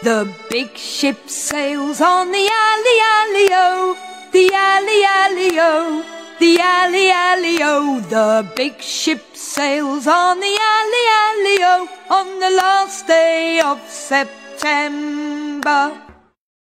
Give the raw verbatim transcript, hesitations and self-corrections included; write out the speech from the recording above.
The big ship sails on the alley, alley-o, the alley, alley-o, the alley, alley-o. The big ship sails on the alley, alley-o, on the last day of September.